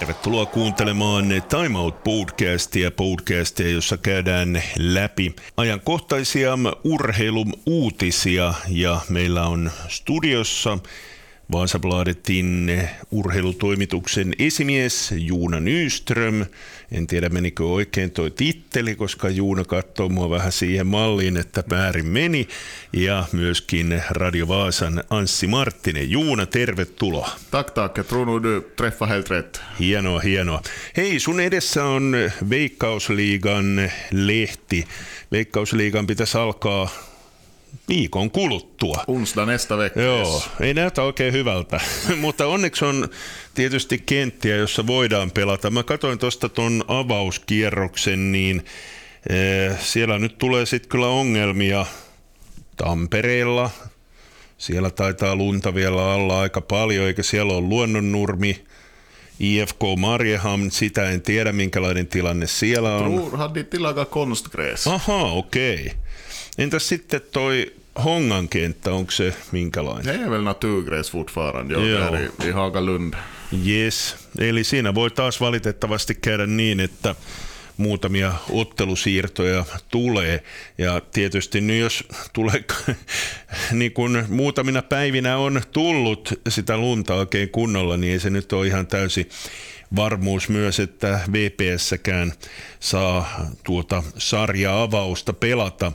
Tervetuloa kuuntelemaan Time Out-podcastia, jossa käydään läpi ajankohtaisia urheiluuutisia ja meillä on studiossa Vasabladetin urheilutoimituksen esimies Joona Nyström. En tiedä menikö oikein toi titteli, koska Joona katsoo mua vähän siihen malliin, että väärin meni. Ja myöskin Radio Vaasan Anssi Marttinen. Joona, tervetuloa. Tack. Jag tror nog du träffar helt rätt. Hienoa. Hei, sun edessä on Veikkausliigan lehti. Veikkausliigan pitäisi alkaa viikon kuluttua. Onsdag nästa vecka. Joo, ei näytä oikein hyvältä, mutta onneksi on tietysti kenttiä, jossa voidaan pelata. Mä katsoin tuosta ton avauskierroksen, niin siellä nyt tulee sitten kyllä ongelmia Tampereella. Siellä taitaa lunta vielä alla aika paljon, eikä siellä ole Luonnonnurmi. IFK Mariehamn, sitä en tiedä minkälainen tilanne siellä on. Tror hade tilaga konstgräs. Aha, okei. Entäs sitten toi Hongan kenttä, onko se minkälainen? Det är väl naturgräs fortfarande, där i Hagalund. Yes, eli siinä voi taas valitettavasti käydä niin, että muutamia ottelusiirtoja tulee. Ja tietysti nyt jos tulee, niin kun muutamina päivinä on tullut sitä lunta oikein kunnolla, niin ei se nyt ole ihan täysin varmuus myös, että VPS:kään saa tuota sarja-avausta pelata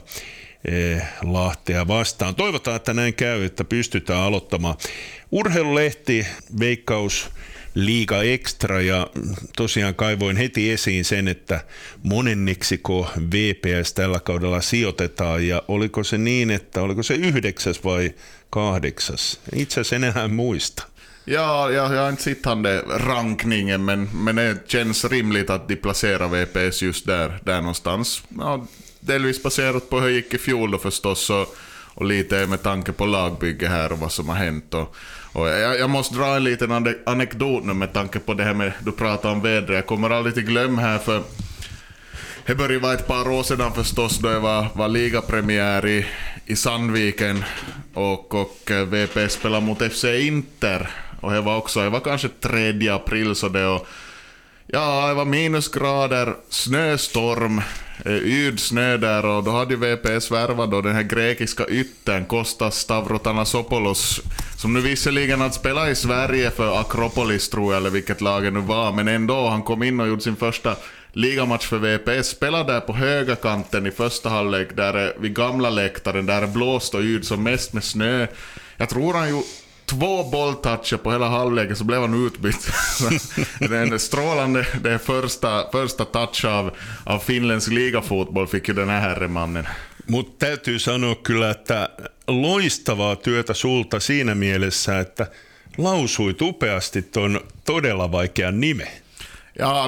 Lahtea vastaan. Toivotaan, että näin käy, että pystytään aloittamaan. Urheilulehti Veikkausliiga Extra, ja tosiaan kaivoin heti esiin sen, että monenneksiko VPS tällä kaudella sijoitetaan, ja oliko se niin, että oliko se 9. vai 8? Itse asiassa enää muista. Ja, jag har inte sett han det rankningen, men det känns rimligt att de placerar VPS just där någonstans. Ja, delvis baserat på hur det gick i fjol då förstås, och lite med tanke på lagbygge här och vad som har hänt. Och jag måste dra en liten anekdot nu med tanke på det här med, du pratar om vädret. Jag kommer aldrig till glöm här, för det började vara ett par år sedan förstås, då jag var ligapremiär i Sandviken och VP spelade mot FC Inter. Och det var kanske 3 april, så det, och ja, det var minusgrader, snöstorm, yd snö där, och då hade VPS värvat då den här grekiska yttern Kostas Stavrotanasopoulos, som nu visserligen hade spelat i Sverige för Akropolis, tror jag, eller vilket lag nu var, men ändå, han kom in och gjorde sin första ligamatch för VPS, spelade där på höga kanten i första halvlek, där vid gamla läktaren, där blåst och yd som mest med snö. Jag tror han ju 2 bolltoucher på hela halvleken, så blev han utbytt. Det är strålande, det är första touch av finländsk ligafotboll fick ju den här herremannen. Mutta täytyy sanoa kyllä, että loistavaa työtä sulta siinä mielessä, että lausuit upeasti ton todella vaikean nimen. Ja,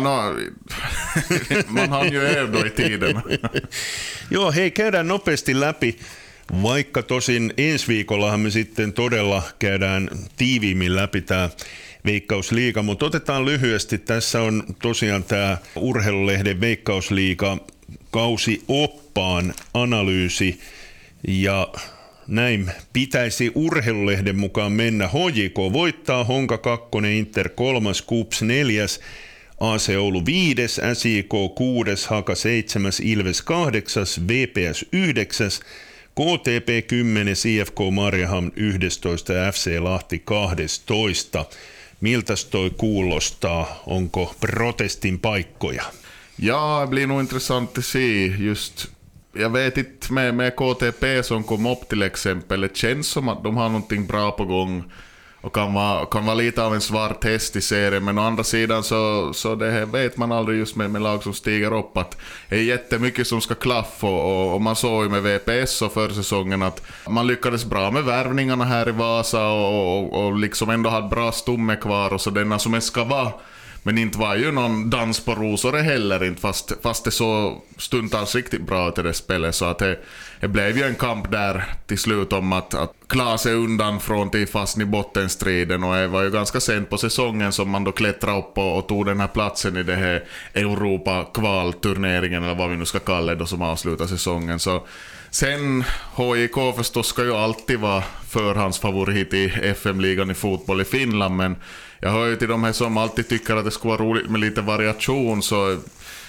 man har ju övat i tiden. Joo, hei, käydään nopeasti läpi. Vaikka tosin ensi viikollahan me sitten todella käydään tiiviimmin läpi tämä Veikkausliiga, mutta otetaan lyhyesti. Tässä on tosiaan tämä Urheilulehden Veikkausliiga kausioppaan analyysi, ja näin pitäisi Urheilulehden mukaan mennä. HJK voittaa, Honka 2, Inter 3, KuPS 4, AC Oulu 5, SJK 6, Haka 7, Ilves 8, VPS 9, KTP 10, IFK Mariehamn 11 ja FC Lahti 12. Miltäs toi kuulostaa? Onko protestin paikkoja? Ja, det blir nog intressant att se just. Jag vet inte med KTP som kom upp till exempel. Det känns som att de har någonting bra på gång och kan vara lite av en svart häst i serien, men å andra sidan så det här vet man aldrig just med lag som stiger upp, att det är jättemycket som ska klaffa, och man såg ju med VPS och för säsongen att man lyckades bra med värvningarna här i Vasa och liksom ändå hade bra stomme kvar, och så denna som ska vara. Men inte var ju någon dans på rosor heller inte, fast det så stundtals riktigt bra till det spelet, så att det blev ju en kamp där till slut om att klara sig undan från till fast i bottenstriden, och det var ju ganska sent på säsongen som man då klättrade upp och tog den här platsen i det här Europa-kvalturneringen, eller vad vi nu ska kalla det då, som avslutar säsongen. Så sen HJK förstås ska ju alltid vara förhandsfavorit i FM-ligan i fotboll i Finland, men jag hör ju till de här som alltid tycker att det skulle vara roligt med lite variation, så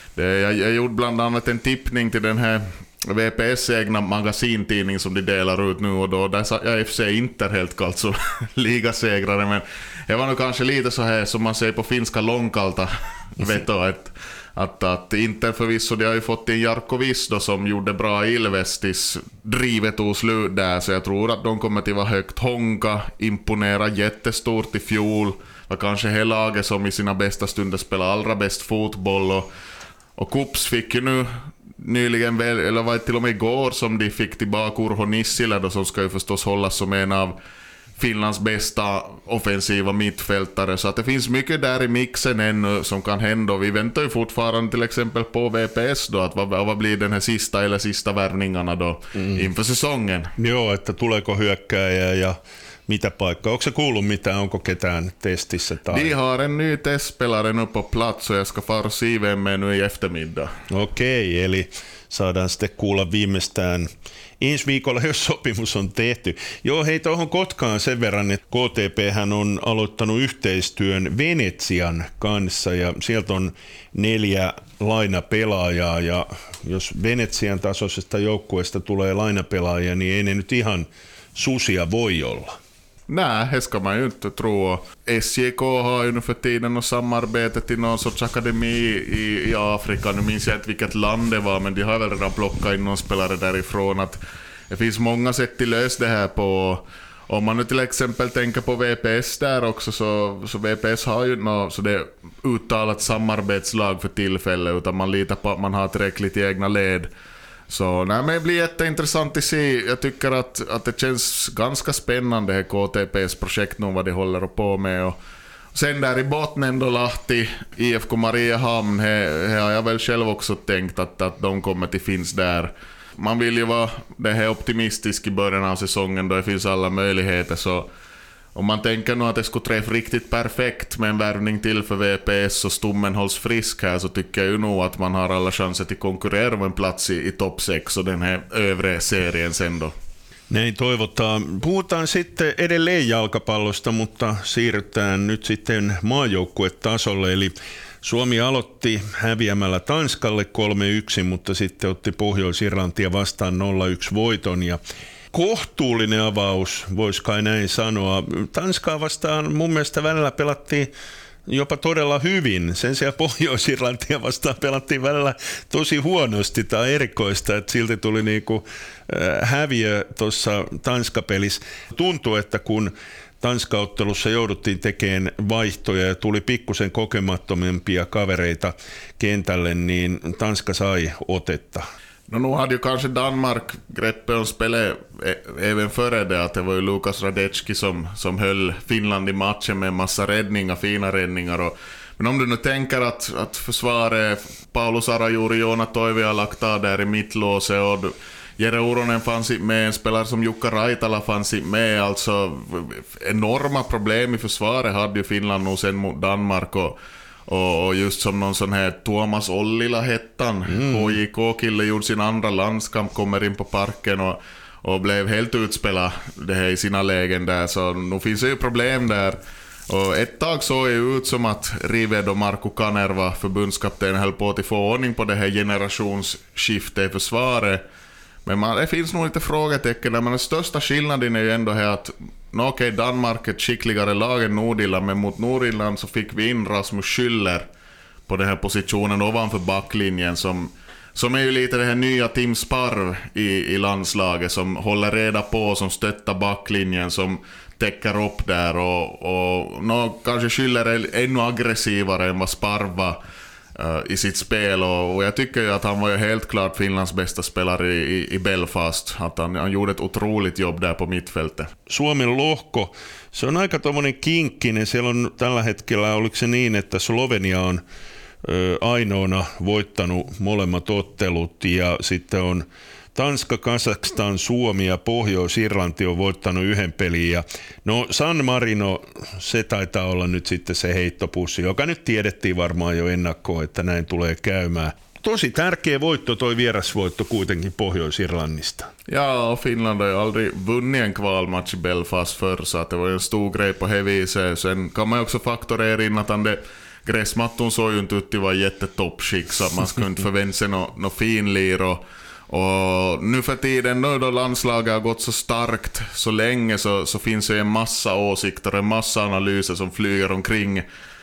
jag gjorde bland annat en tippning till den här VPS egna magasintidning som de delar ut nu, och då där sa jag FC Inter helt kallt som ligasegrare, men jag var nog kanske lite så här som man säger på finska långkalta veto, att Inter förvisso, de har ju fått in Jarkko Visto som gjorde bra Ilvestis, drivet tog slut där, så jag tror att de kommer till vara högt. Honka imponera jättestort i fjol, var kanske hela laget som i sina bästa stunder spelar allra bäst fotboll, och Kups fick ju nu nyligen, eller var det till och med igår som de fick tillbaka Urho Nissilä då, som ska ju förstås hållas som en av Finlands bästa offensiva mittfältare, så att det finns mycket där i mixen ännu som kan hända. Vi väntar ju fortfarande till exempel på VPS då, att vad blir den här sista värvningarna då inför säsongen. Joo, että tuleeko hyökkääjä ja mitä paikkaa. Onko se kuullut mitään, onko ketään testissä? Tai? De har en ny testspelare nu på plats och jag ska fara se vem med nu i eftermiddag. Okei, eli saadaan sitten kuulla viimeistään ensi viikolla, jos sopimus on tehty. Joo, hei tuohon Kotkaan sen verran, että KTP:hän on aloittanut yhteistyön Venetsian kanssa ja sieltä on 4 lainapelaajaa, ja jos Venetsian tasoisesta joukkueesta tulee lainapelaajia, niin ei ne nyt ihan susia voi olla. Nej, det ska man ju inte tro. SJK har ju nu för tiden något samarbete till någon sorts akademi i Afrika. Nu minns jag inte vilket land det var, men de har väl redan plockat in någon spelare därifrån. Att det finns många sätt till lös det här på. Om man nu till exempel tänker på VPS där också, så VPS har ju något så det uttalat samarbetslag för tillfället, utan man litar på att man har tillräckligt i egna led. Så nej, men det blir jätteintressant att se. Jag tycker att det känns ganska spännande här KTPs projekt nu, vad de håller på med. Och sen där i botten då Lahti, IFK Mariehamn, här har jag väl själv också tänkt att de kommer till finns där. Man vill ju vara det här optimistisk i början av säsongen då det finns alla möjligheter, så om man tänker nu att det skulle träffa riktigt perfekt med en värvning till för VPS och Stommen hålls frisk här, så tycker jag ju nog att man har alla chanser till konkurrera om en plats i topp 6 och den här övre serien sen då. Näin toivotaan. Puhutaan sitten edelleen jalkapallosta, mutta siirrytään nyt sitten maajoukkuetasolle. Eli Suomi aloitti häviämällä Tanskalle 3-1, mutta sitten otti Pohjois-Irlantia vastaan 0-1 voiton ja kohtuullinen avaus, vois kai näin sanoa. Tanskaa vastaan mun mielestä välillä pelattiin jopa todella hyvin. Sen sijaan Pohjois-Irlantia vastaan pelattiin välillä tosi huonosti tai erikoista, että silti tuli niinku häviö tuossa Tanska-pelissä. Tuntuu, että kun Tanska-ottelussa jouduttiin tekemään vaihtoja ja tuli pikkusen kokemattomimpia kavereita kentälle, niin Tanska sai otetta. No, nu hade ju kanske Danmark greppet om spelet även före det, att det var ju Lukas Radecki som höll Finland i matchen med en massa räddningar, fina räddningar. Men om du nu tänker att försvaret, Paulus Arajuuri, Joona Toivia lagt av där i mittlåset, och Jere Uronen fanns med, en spelare som Jukka Raitala fanns med, alltså enorma problem i försvaret hade ju Finland nog sen mot Danmark, och just som någon sån här Tuomas Ollila hettan, HJK-kille, gjorde sin andra landskamp, kommer in på parken och blev helt utspelad det här i sina lägen där, så nu finns det ju problem där. Och ett tag såg ju ut som att Rived och Marko Kanerva, förbundskapten, höll på att få ordning på det här generationsskiftet i försvaret. Men det finns nog lite frågetecken där, men den största skillnaden är ju ändå här att okej, Danmark är ett skickligare lag än Nordirland, men mot Nordirland så fick vi in Rasmus Schüller på den här positionen ovanför backlinjen som är ju lite det här nya Tim Sparv i landslaget, som håller reda på, som stöttar backlinjen, som täcker upp där, och kanske Schüller är ännu aggressivare än vad Sparv var i sitt spel, och jag tycker ju att han var ju helt klart Finlands bästa spelare i Belfast, att han gjorde ett otroligt jobb där på mittfältet. Suomen lohko, se on aika tommonen kinkkinen, siellä on tällä hetkellä, oliko se niin, että Slovenia on ainoana voittanut molemmat ottelut, ja sitten on Tanska, Kazakstan, Suomi ja Pohjois-Irlanti on voittanut yhden pelin. Ja no San Marino, se taitaa olla nyt sitten se heittopussi, joka nyt tiedettiin varmaan jo ennakkoon, että näin tulee käymään. tosi tärkeä voitto toi vierasvoitto kuitenkin Pohjois-Irlannista. Ja, och Finland har ju aldrig vunnit en kvalmatch i Belfast förr, så att det var en stor grej på heviset. Sen kan man ju också faktorera in att gräsmatton såg ju inte ut att vara jättetoppskick, så att man skulle inte förvänta sig något finlir. Och nu för tiden då landslaget har gått så starkt så länge, så finns det en massa åsikter, en massa analyser som flyger omkring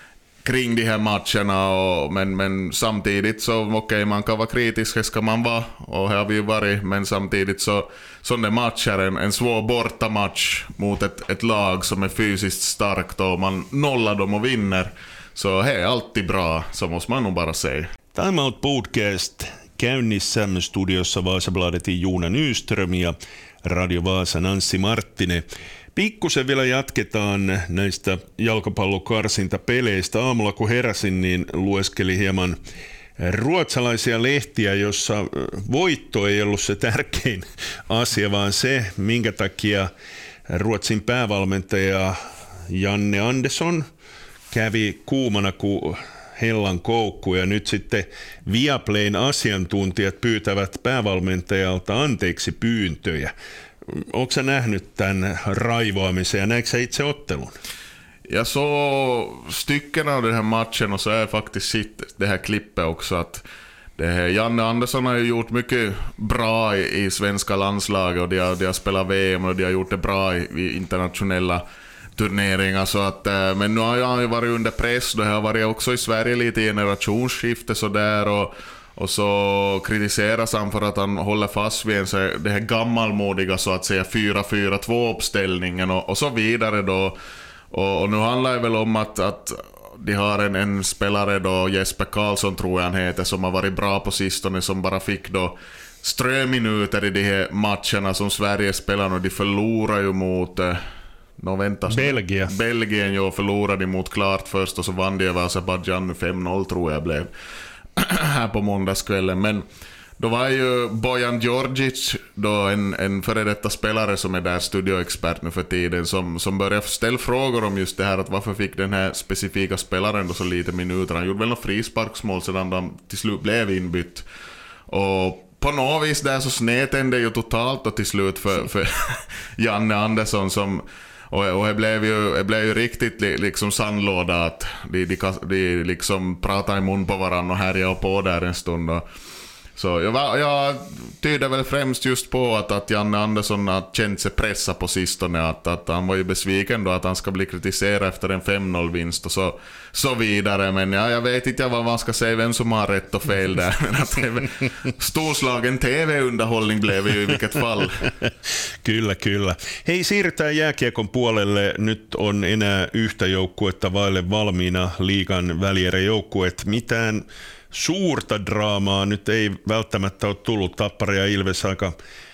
de här matcherna, men samtidigt så okej, man kan vara kritisk, det ska man vara, och här har vi ju varit, men samtidigt så sådana matcher, en svår bortamatch mot ett lag som är fysiskt starkt, och man nollar dem och vinner, så det är alltid bra, så måste man nog bara säga. Time Out Podcast käynnissä studiossa Vasabladetin Joona Nyström ja Radio Vaasan Anssi Marttinen. Pikkusen vielä jatketaan näistä jalkapallokarsintapeleistä. Aamulla kun heräsin, niin lueskeli hieman ruotsalaisia lehtiä, jossa voitto ei ollut se tärkein asia, vaan se, minkä takia Ruotsin päävalmentaja Janne Andersson kävi kuumana kuin hellan koukku, ja nyt sitten Viaplayn asiantuntijat pyytävät päävalmentajalta anteeksi pyyntöjä. Onko sä nähnyt tämän raivoamisen ja näetkö sä itse ottelun? Jag såg stycken av den här matchen, och så har jag faktiskt sett det här klippet också, att Janne Andersson har ju gjort mycket bra i svenska landslaget, och de har spelat VM och de har gjort det bra i internationella turneringar, så att, men nu har han ju varit under press. Det har varit också i Sverige lite generationsskifte så där, och så kritiseras han för att han håller fast vid det här gammalmodiga, så att säga 4-4-2 uppställningen och så vidare då. Och nu handlar det väl om att de har en spelare då, Jesper Karlsson tror jag han heter, som har varit bra på sistone, som bara fick då ströminuter i de här matcherna som Sverige spelar, och de förlorar ju mot Belgien, jo, förlorade mot klart först, och så vann de över Azerbaijan 5-0 tror jag blev här på måndagskvällen. Men då var ju Bojan Djordjic då en före detta spelare som är där studioexpert nu för tiden, som började ställa frågor om just det här, att varför fick den här specifika spelaren då så lite minuter. Han gjorde väl något frisparksmål sedan han till slut blev inbytt, och på något vis där så snedtände ju totalt då till slut för Janne Andersson, som och det blev ju riktigt liksom sandlåda, att de liksom pratar i mun på varandra och härjar på där en stund. Så jag tyder väl främst just på att Janne Andersson har känt sig pressa på sistone, att han var ju besviken då att han ska bli kritiserad efter en 5-0-vinst och så vidare. Men jag vet inte vad man ska säga, vem som har rätt och fel där. Men att storslagen TV-underhållning blev ju i vilket fall. Kyllä. Hei, siirrytään jääkiekon puolelle. Nyt on enää yhtä joukkuetta vaille valmiina liigan välieräjoukkueet. Mitään suurta draamaa nyt ei välttämättä ole tullut. Tappara ja Ilves aika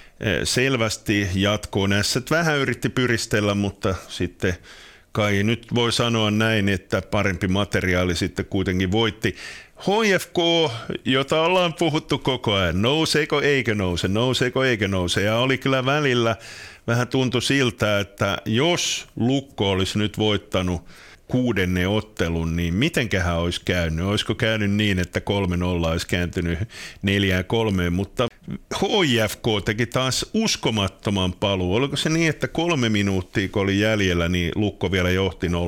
selvästi jatkoon. Ässät vähän yritti pyristellä, mutta sitten kai nyt voi sanoa näin, että parempi materiaali sitten kuitenkin voitti. HFK, jota ollaan puhuttu koko ajan, nouseeko eikä nouse, ja oli kyllä välillä vähän tuntui siltä, että jos Lukko olisi nyt voittanut 6. ottelun, niin mitenköhän olisi käynyt? Olisiko käynyt niin, että 3-0 olisi kääntynyt 4-3, mutta HFK teki taas uskomattoman paluu. Oliko se niin, että 3 minuuttia kun oli jäljellä, niin Lukko vielä johti 0-2?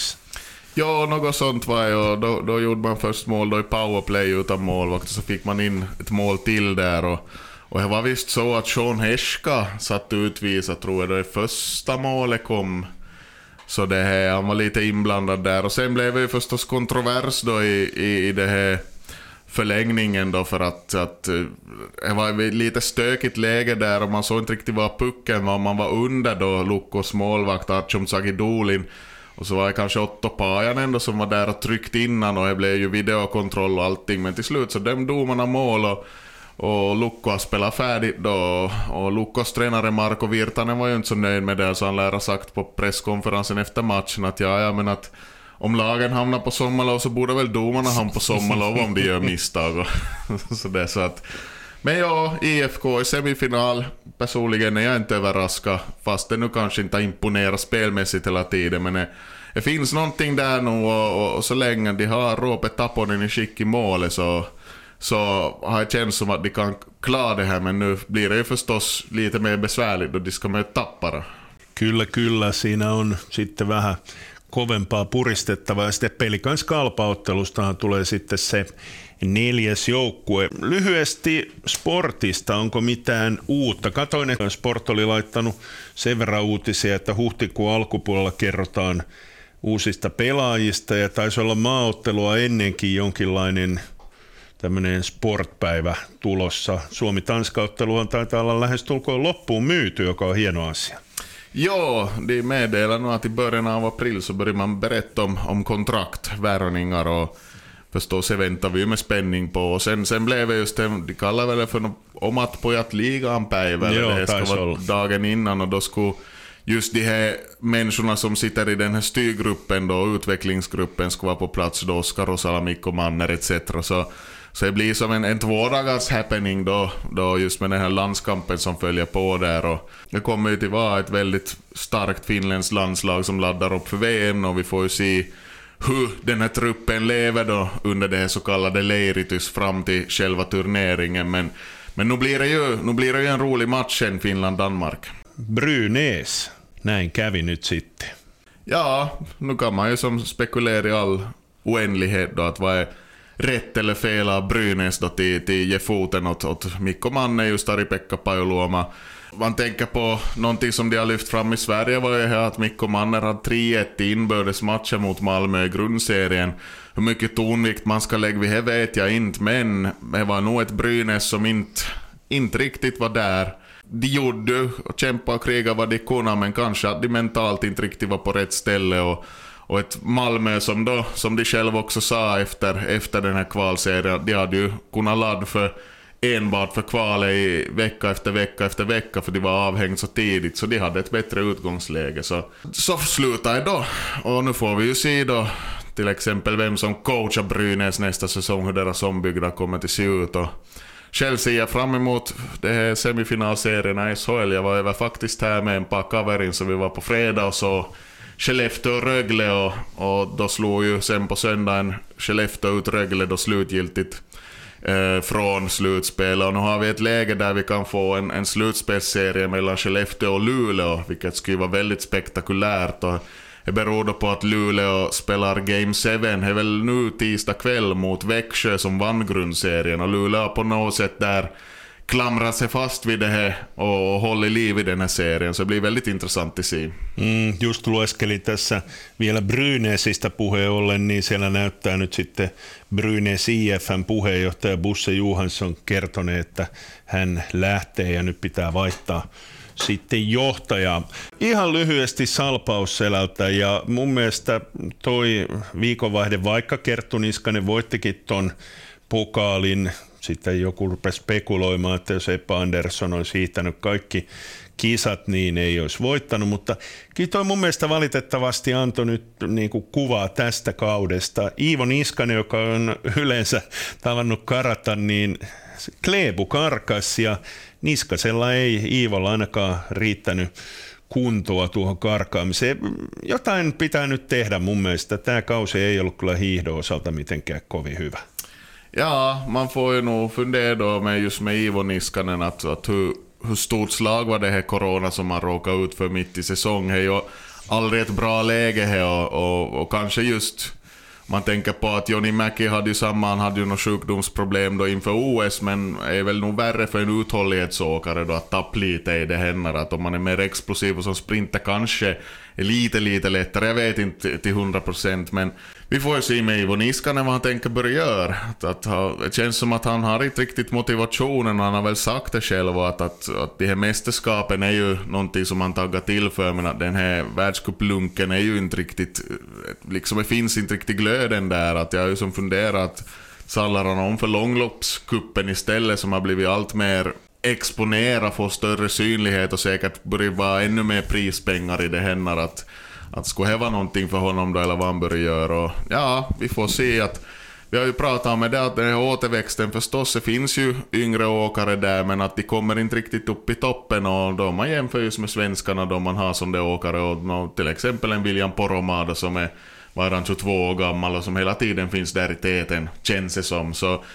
Ja, något sånt var ju. Då gjorde man först mål då i powerplay utan målvakt, och så fick man in ett mål till där, och det var visst så att Sean Heska satt utvisad, tror jag, då det första målet kom. Så det här, han var lite inblandad där, och sen blev det ju förstås kontrovers då i det här förlängningen då, för att det var ett lite stökigt läge där, och man såg inte riktigt vad pucken var. Man var under då Lukkos målvakt Artyom Zagidulin, och så var det kanske Otto Pajanen då som var där och tryckt innan, och det blev ju videokontroll och allting, men till slut så dömde domarna mål, och Lukko har spelat färdigt då, och Lukkos tränare Marko Virtanen var ju inte så nöjd med det, så han lär ha sagt på presskonferensen efter matchen att ja, men att om lagen hamnar på sommarlov så borde väl domarna hamna på sommarlov om de gör misstag så det, så att, men ja, IFK i semifinal, personligen är jag inte överraskad, fast det nu kanske inte imponerar spelmässigt hela tiden, men det finns någonting där nu, och så länge de har Roope Taponen i skick i målet, så har jag känt som att de kan klara det här, men nu blir det ju förstås lite mer besvärligt då de ska möta Tappara. Kyllä, siinä on sitten vähän kovempaa puristettavaa. Ja sitten Pelikans Kalpa-ottelustahan tulee sitten se 4. joukkue. Lyhyesti sportista, onko mitään uutta? Katoin, että Sport oli laittanut sen verran uutisia, että huhtikuun alkupuolella kerrotaan uusista pelaajista ja taisi olla maaottelua ennenkin jonkinlainen tämmöinen sportpäivä tulossa. Suomi-Tanska-otteluhan taitaa olla lähestulkoon loppuun myyty, joka on hieno asia. Ja, de meddelar nog att i början av april så börjar man berätta om kontrakt, värvningar och förstås så väntar vi med spänning på. Och sen blev det just det, de kallar väl det för omat pojat ligan päivä. Det ska vara dagen innan och då skulle just de här människorna som sitter i den här styrgruppen då, utvecklingsgruppen, ska vara på plats då, Oskar Rosala, Mikko Manner etc. Så det blir som en 2 dagars happening då just med den här landskampen som följer på där. Och det kommer ju till vara ett väldigt starkt finländskt landslag som laddar upp för VM, och vi får ju se hur den här truppen lever då under det så kallade Leiritus fram till själva turneringen. Men nu blir det ju en rolig match än Finland-Danmark. Brynäs, näin kävi nyt sitten. Ja, nu kan man ju som spekulera i all oändlighet då att vad är rätt eller fel av Brynäs då till ge foten åt Mikko Manne, just Ari-Pekka Pajoluoma. Man tänker på någonting som de har lyft fram i Sverige var ju här att Mikko Manner hade 3-1 i inbördesmatcher mot Malmö i grundserien. Hur mycket tonvikt man ska lägga vid det vet jag inte, men det var nog ett Brynäs som inte riktigt var där. De gjorde och kämpade och krigade vad de kunde, men kanske att de mentalt inte riktigt var på rätt ställe, och ett Malmö som de själva också sa efter den här kvalserien, de hade ju kunnat ladda för enbart för kvalet i vecka efter vecka för de var avhängt så tidigt, så de hade ett bättre utgångsläge. Så slutar det då, och nu får vi ju se då till exempel vem som coachar Brynäs nästa säsong, hur deras ombyggnad kommer att se ut. Och själv ser jag fram emot det här semifinalserierna i SHL. Jag var faktiskt här med en par kaverin, så vi var på fredag och så Skellefteå och Rögle, och då slog ju sen på söndagen Skellefteå ut Rögle då slutgiltigt från slutspel, och nu har vi ett läge där vi kan få en slutspelsserie mellan Skellefteå och Luleå, vilket skulle vara väldigt spektakulärt, och det beror då på att Luleå spelar Game 7, det är väl nu tisdag kväll mot Växjö som vann grundserien, och Luleå på något sätt där klamrar sig fast vid det här och håller liv i den här serien, så det blir väldigt intressant att se. Just lueskelin tässä vielä Brynäsistä puheen ollen, niin siellä näyttää nyt sitten Brynäs IF:n puheenjohtaja Bosse Johansson kertoneen, että hän lähtee ja nyt pitää vaihtaa sitten johtajaa. Ihan lyhyesti Salpausselältä, ja mun mielestä toi viikonvaihde, vaikka Kerttu Niskanen voittikin ton pokaalin, sitten joku rupesi spekuloimaan, että jos Eppa Andersson olisi hiihtänyt kaikki kisat, niin ei olisi voittanut, mutta kyllä toi mun mielestä valitettavasti antoi nyt niin kuin kuvaa tästä kaudesta. Iivo Niskanen, joka on yleensä tavannut karata, niin Kleebu karkas, ja Niskasella ei Iivolla ainakaan riittänyt kuntoa tuohon karkaamiseen. Jotain pitää nyt tehdä mun mielestä. Tämä kausi ei ollut kyllä hiihdon osalta mitenkään kovin hyvä. Ja, man får ju nog fundera då med Iivo Niskanen att hur stort slag var det här corona som man råkade ut för mitt i säsong. Det är ju aldrig ett bra läge här, och kanske just man tänker på att Joni Mäki hade ju något sjukdomsproblem då inför OS, men är väl nog värre för en uthållighetsåkare då att tappa lite i det händer, att om man är mer explosiv och som sprinter kanske är lite lättare, jag vet inte till 100%, men vi får ju se med Iivo Niskanen vad han tänker börja göra. Det känns som att han har inte riktigt motivationen, och han har väl sagt det själv att de här mästerskapen är ju någonting som han taggar till för, men att den här världscuplunken är ju inte riktigt, liksom det finns inte riktigt glöden där, att jag har ju som funderat sallar han om för långloppskuppen istället, som har blivit allt mer exponera, få större synlighet och säkert börja vara ännu mer prispengar i det händer, att skulle häva någonting för honom då, eller vad han börjar göra. Och ja, vi får se att vi har ju pratat om det, att den här återväxten förstås, det finns ju yngre åkare där, men att de kommer inte riktigt upp i toppen, och då man jämför just med svenskarna då man har som det åkare, och till exempel en William Poromaa som är 22 år gammal och som hela tiden finns där i täten, känns det som. Så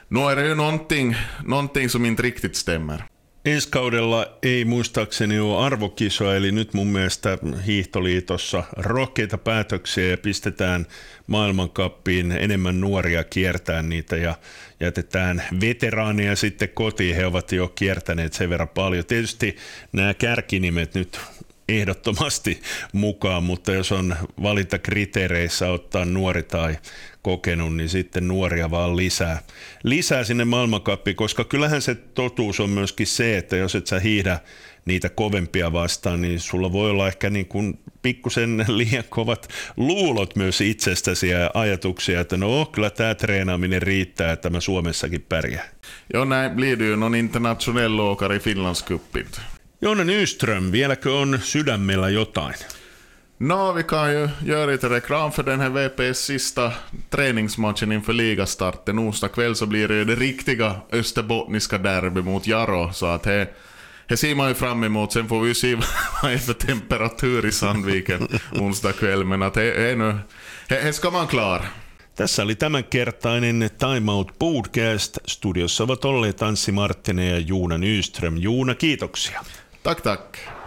Nu är det ju någonting som inte riktigt stämmer. Ensi kaudella ei muistaakseni ole arvokisoa, eli nyt mun mielestä hiihtoliitossa rohkeita päätöksiä ja pistetään maailmankappiin enemmän nuoria kiertää niitä ja jätetään veteraaneja sitten kotiin. He ovat jo kiertäneet sen verran paljon. Tietysti nämä kärkinimet nyt ehdottomasti mukaan, mutta jos on valintakriteereissä ottaa nuori tai kokenut, niin sitten nuoria vaan lisää sinne maailmankappiin, koska kyllähän se totuus on myöskin se, että jos et sä hiihdä niitä kovempia vastaan, niin sulla voi olla ehkä niin kuin pikkusen liian kovat luulot myös itsestäsi ja ajatuksia, että no kyllä tämä treenaaminen riittää, että mä Suomessakin pärjään. Jo näin blir du ju någon internationell åkare i Finlandscupen. Joona Nyström, vieläkö on sydämellä jotain? No, vi kan ju göra lite reklam för den här VPs sista träningsmatchen inför ligastarten. Onsdag kväll så blir det ju det riktiga österbottniska derby mot Jaro. Så att det ser man ju fram emot. Sen får vi ju se vad är för temperatur i Sandviken onsdag kväll. Men att det ska man klar. Tässä oli tämänkertainen Time Out Podcast. Studiossa ovat olleet Anssi Marttinen ja Joona Nyström. Joona, kiitoksia. Tack.